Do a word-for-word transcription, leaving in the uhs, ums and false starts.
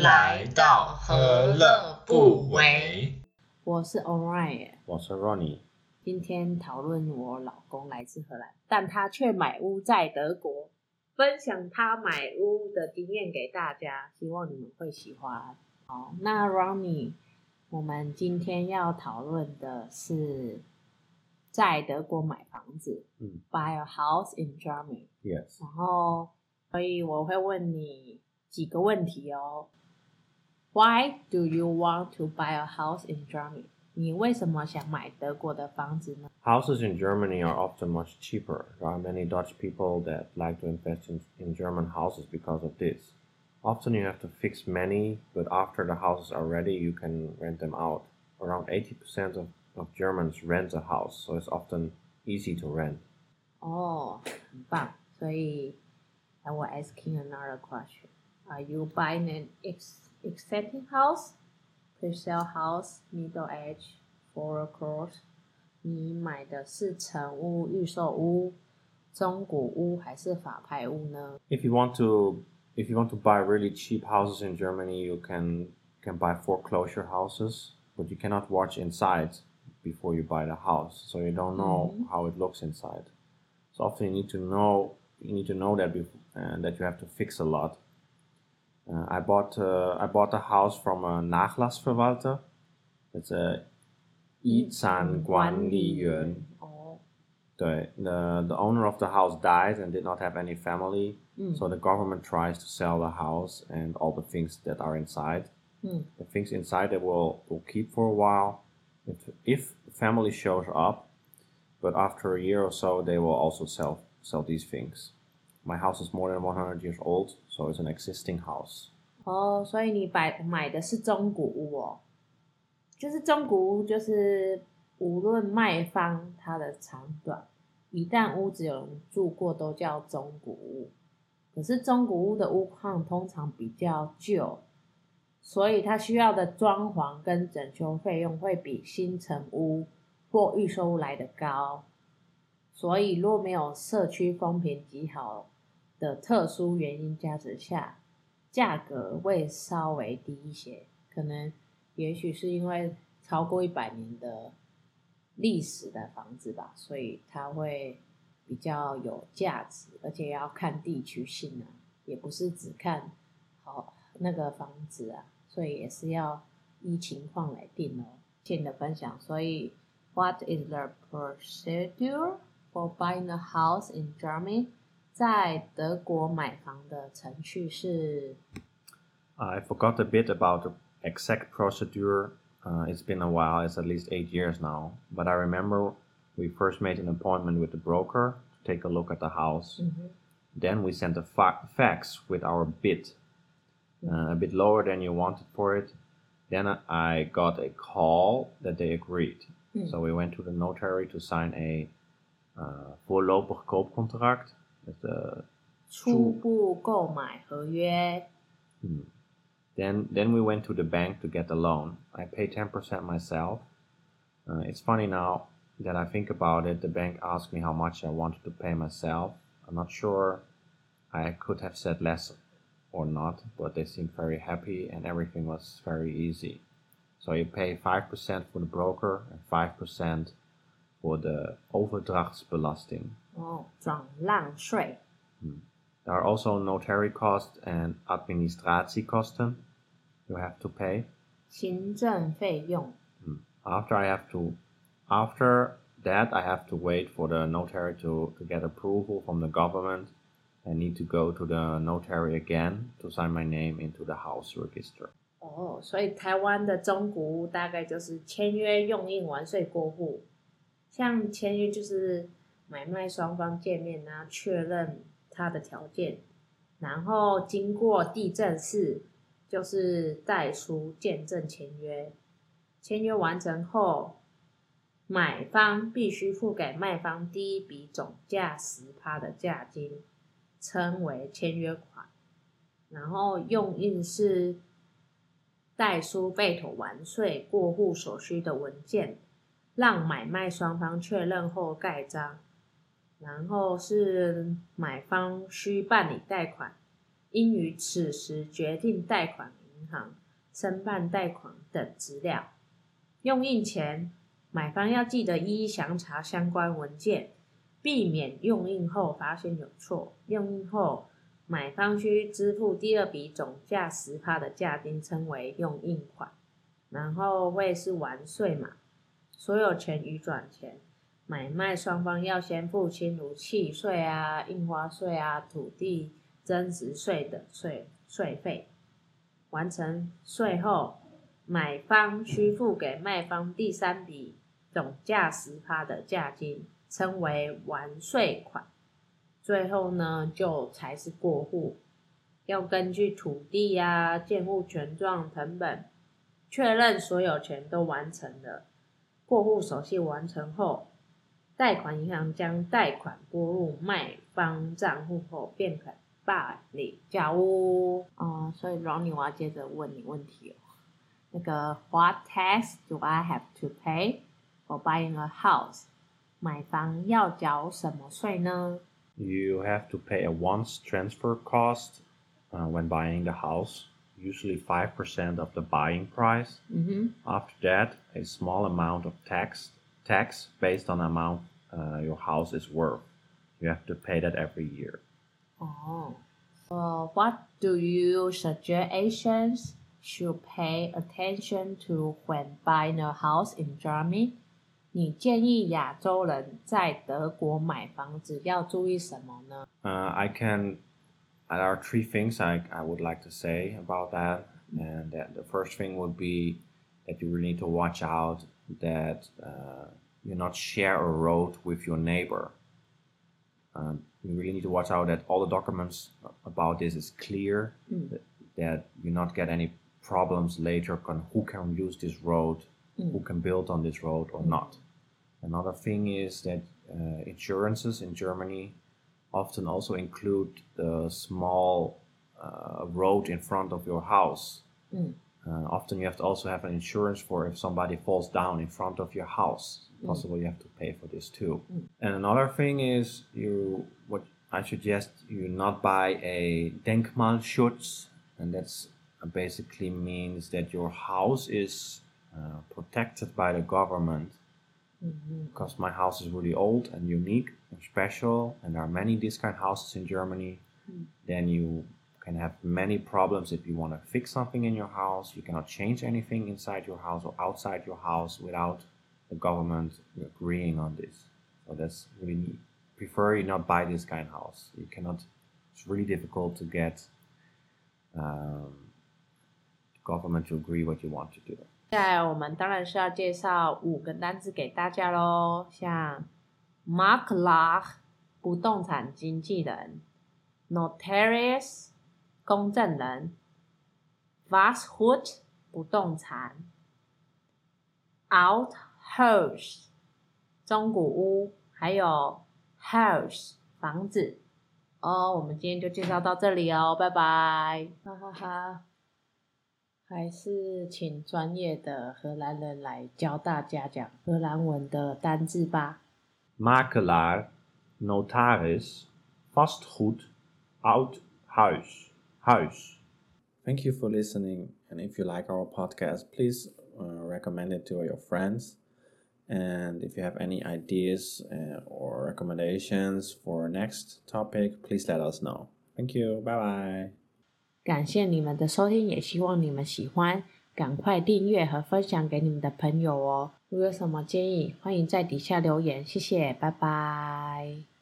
来到何乐不为。 我是 Orion， 我是 Ronnie。 今天讨论我老公来自荷兰，但他却买屋在德国，分享他买屋的经验给大家，希望你们会喜欢。好，那 Ronnie， 我们今天要讨论的是在德国买房子， 嗯 buy a house in Germany。 Yes。 然后所以我会问你几个问题哦。 Why do you want to buy a house in Germany？ 你为什么想买德国的房子呢？ Houses in Germany are often much cheaper. There are many Dutch people that like to invest in, in German houses because of this. Often you have to fix many, but after the houses are ready, you can rent them out. Around eighty percent of, of Germans rent a house, so it's often easy to rent. 哦，很棒。所以 I will asking another question. Are you buying an ex existing house, pre-sale house, middle age, foreclosure？ 你买的是成屋、预售屋、中古屋还是法拍屋呢？ If you want to, if you want to buy really cheap houses in Germany, you can can buy foreclosure houses, but you cannot watch inside before you buy the house, so you don't know Mhm. how it looks inside. So often you need to know you need to know that before, uh, that you have to fix a lot. Uh, I bought uh, I bought a house from a Nachlassverwalter. It's a 遗产管理员。 哦， 对 the the owner of the house died and did not have any family, 嗯 so the government tries to sell the house and all the things that are inside. 嗯 The things inside they will will keep for a while. If if family shows up, but after a year or so, they will also sell sell these things. My house is more than one hundred years old, so it's an existing house. 哦，所以你买买的是中古屋哦，就是中古屋，就是无论卖方它的长短，一旦屋子有人住过，都叫中古屋。可是中古屋的屋况通常比较旧，所以它需要的装潢跟整修费用会比新成屋或预售屋来得高。所以若没有社区风评极好的特殊原因加持下，价格会稍微低一些，可能也许是因为超过一百年的历史的房子吧，所以它会比较有价值，而且要看地区性啊，也不是只看好那个房子啊，所以也是要依情况来定哦。谢谢你的分享。所以 What is the procedure for buying a house in Germany？ 在德国买房的程序是 I forgot a bit about the exact procedure. Uh, it's been a while. It's at least eight years now. But I remember we first made an appointment with the broker to take a look at the house. Mhm. Then we sent a fa- fax with our bid, uh, a bit lower than you wanted for it. Then I got a call that they agreed. Mm. So we went to the notary to sign a uh, voorlopig koopcontract. That's a 初步购买合约。 Hmm. Then, then we went to the bank to get the loan. I paid ten percent myself. Uh, it's funny now that I think about it. The bank asked me how much I wanted to pay myself. I'm not sure I could have said less or not, but they seemed very happy and everything was very easy. So you pay five percent for the broker and five percent for the overdrachtsbelasting. 哦，转让税。 There are also notary costs and administratiekosten you have to pay. 行政费用。 After I have to, after that I have to wait for the notary to, to get approval from the government. I need to go to the notary again to sign my name into the house register. 哦，所以台湾的中古屋大概就是签约用印完税过户，像签约就是买卖双方见面啊，确认他的条件，然后经过地政士，就是代书见证签约。签约完成后，买方必须付给卖方第一笔总价 百分之十 的价金，称为签约款。然后用印是代书备妥完税过户所需的文件，让买卖双方确认后盖章。然后是买方需办理贷款，应于此时决定贷款名银行申办贷款等资料。用印前，买方要记得一一详查相关文件，避免用印后发现有错。用印后，买方需支付第二笔总价 百分之十 的价金，称为用印款，然后会是完税码。所有权移转前，买卖双方要先付清如契税啊、印花税啊、土地增值税等税税费。完成税后，买方需付给卖方第三笔总价 百分之十 的价金，称为完税款。最后呢，就才是过户。要根据土地啊、建物权状誊本，确认所有权都完成了。过户手续完成后，贷款银行将贷款拨入卖方账户后，便可办理交屋。哦、嗯，所以 Ronnie 我要接着问你问题哦。那个 What tax do I have to pay for buying a house？ 买房要缴什么税呢？ You have to pay a once transfer cost uh, when buying the house, usually five percent of the buying price. Mm-hmm. After that, a small amount of tax tax based on the amount uh, your house is worth. You have to pay that every year. Oh. So what do you suggest Asians should pay attention to when buying a house in Germany? 你建议亚洲人在德国买房子要注意什么呢？ Uh, I can. There are three things I, I would like to say about that. And that the first thing would be that you really need to watch out that uh, you not share a road with your neighbor. Um, you really need to watch out that all the documents about this is clear, mm. that, that you not get any problems later on who can use this road, mm. who can build on this road or mm. not. Another thing is that uh, insurances in Germany often also include the small uh, road in front of your house. Mm. Uh, often you have to also have an insurance for if somebody falls down in front of your house. Mm. Possibly you have to pay for this too. Mm. And another thing is you what I suggest you not buy a Denkmalschutz, and that's uh, basically means that your house is uh, protected by the government. Mm-hmm. Because my house is really old and unique and special, and there are many these kind of houses in Germany, mm. then you can have many problems if you want to fix something in your house. You cannot change anything inside your house or outside your house without the government agreeing on this. So that's really neat. Prefer you not buy this kind of house. You cannot. It's really difficult to get um, the government to agree what you want to do. 接下来我们当然是要介绍五个单字给大家咯，像 Makler 不动产经纪人， Notarius 公证人， Washut 不动产， Althaus 中古屋，还有 House 房子。哦，我们今天就介绍到这里哦，拜拜，哈哈哈。还是请专业的荷兰人来教大家讲荷兰文的单字吧。 Makelaar, notaris, vastgoed, oud huis, huis. Thank you for listening, and if you like our podcast, please uh, recommend it to your friends. And if you have any ideas uh, or recommendations for next topic, please let us know. Thank you. Bye bye. 感谢你们的收听，也希望你们喜欢，赶快订阅和分享给你们的朋友哦。如果有什么建议，欢迎在底下留言，谢谢，拜拜。